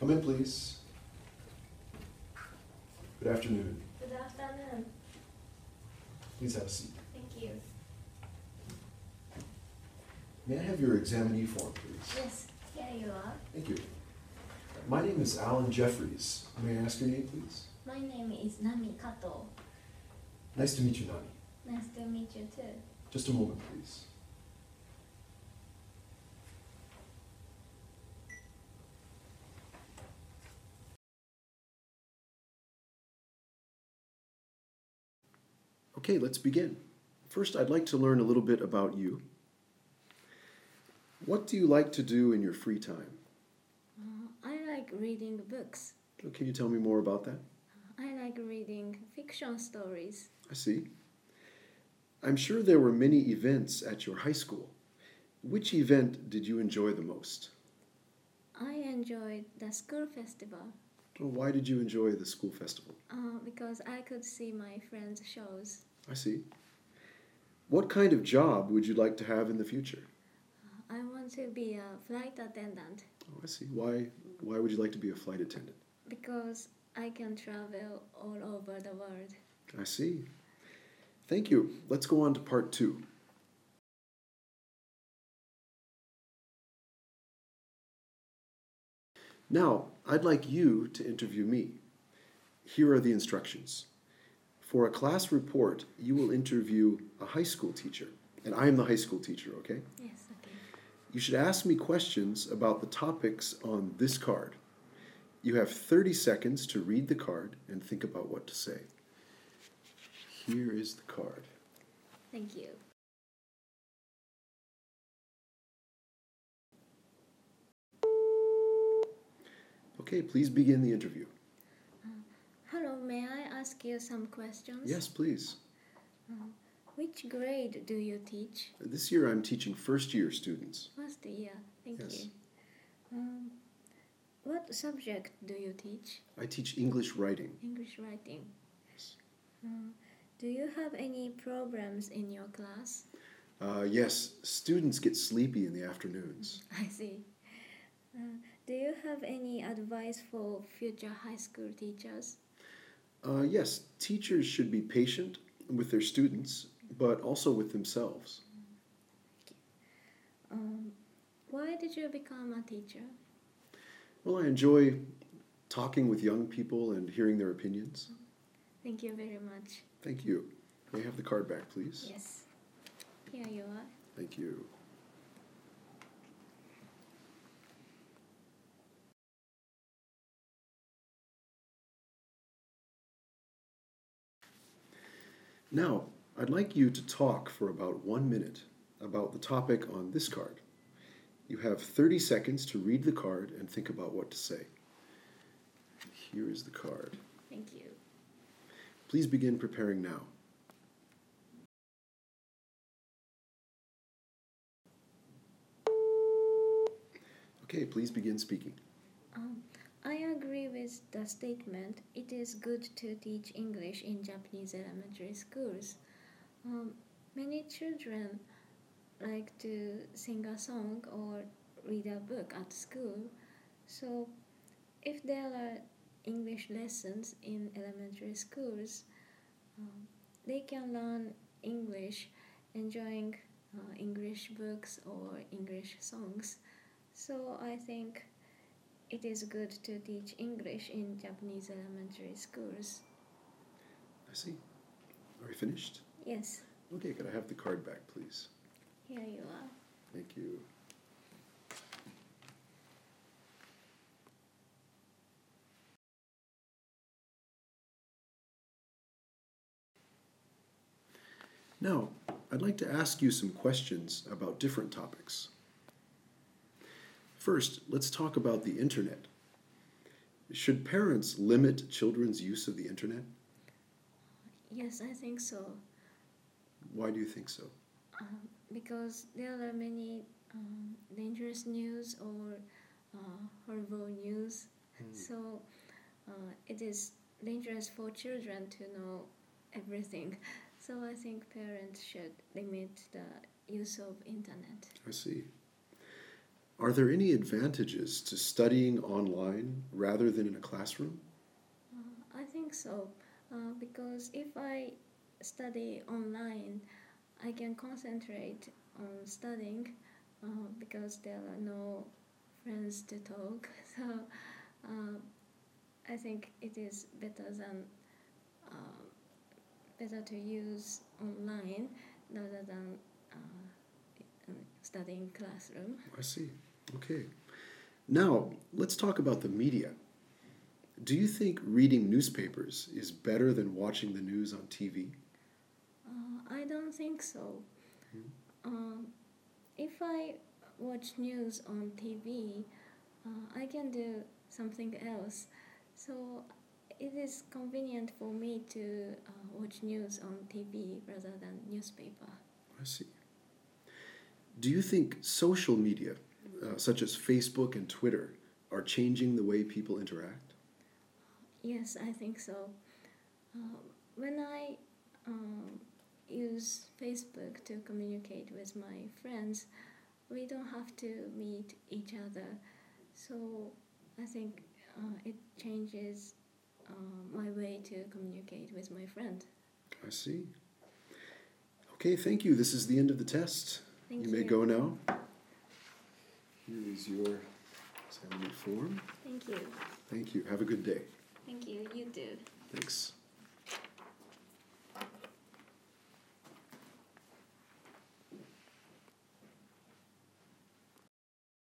Come in, please. Good afternoon. Good afternoon. Please have a seat. Thank you. May I have your examinee form, please? Yes, here you are. Thank you. My name is Alan Jeffries. May I ask your name, please? My name is Nami Kato. Nice to meet you, Nani. Nice to meet you too. Just a moment, please. Okay, let's begin. First, I'd like to learn a little bit about you. What do you like to do in your free time? I like reading books. Can you tell me more about that? I like reading fiction stories. I see. I'm sure there were many events at your high school. Which event did you enjoy the most? I enjoyed the school festival Why did you enjoy the school festival? because I could see my friends' shows. I see. What kind of job would you like to have in the future? I want to be a flight attendant I see. Why would you like to be a flight attendant? because I can travel all over the world. I see. Thank you. Let's go on to part 2. Now, I'd like you to interview me. Here are the instructions. For a class report, you will interview a high school teacher, and I am the high school teacher, okay? Yes, okay. You should ask me questions about the topics on this card. You have 30 seconds to read the card and think about what to say. Here is the card. Thank you. Okay, please begin the interview. Hello, may I ask you some questions? Yes, please. Which grade do you teach? This year I'm teaching first-year students. First year. Thank Yes. you. What subject do you teach? I teach English writing. English writing. Yes. Do you have any programs in your class? Yes, students get sleepy in the afternoons. I see. Do you have any advice for future high school teachers? Yes, teachers should be patient with their students, but also with themselves. Why did you become a teacher? Well, I enjoy talking with young people and hearing their opinions. Thank you very much. Thank you. May I have the card back, please? Yes. Here you are. Thank you. Now, I'd like you to talk for about 1 minute about the topic on this card. You have 30 seconds to read the card and think about what to say. Here is the card. Thank you. Please begin preparing now. Okay, please begin speaking. I agree with the statement. It is good to teach English in Japanese elementary schools. Many children like to sing a song or read a book at school. So, if there are English lessons in elementary schools, they can learn English enjoying English books or English songs. So, I think it is good to teach English in Japanese elementary schools. I see. Are we finished? Yes, Okay, could I have the card back, please? here you are. Thank you. Now, I'd like to ask you some questions about different topics. First, let's talk about the internet. Should parents limit children's use of the internet? Yes, I think so. Why do you think so? Because there are many dangerous news or horrible news. So it is dangerous for children to know everything. So I think parents should limit the use of internet. I see. Are there any advantages to studying online rather than in a classroom? I think so, because if I study online, I can concentrate on studying because there are no friends to talk. So uh, I think it is uh, better to use online rather than studying classroom. I see. Okay. Now, let's talk about the media. Do you think reading newspapers is better than watching the news on TV? I don't think so. If I watch news on TV, I can do something else. So it is convenient for me to watch news on TV rather than newspaper. I see. Do you think social media, such as Facebook and Twitter, are changing the way people interact? Yes, I think so. When I use Facebook to communicate with my friends, we don't have to meet each other. So I think it changes my way to communicate with my friend. I see. Okay, thank you. This is the end of the test. Thank You may you. go now. Here is your assignment form. Thank you. Thank you. Have a good day. Thank you. You too. Thanks.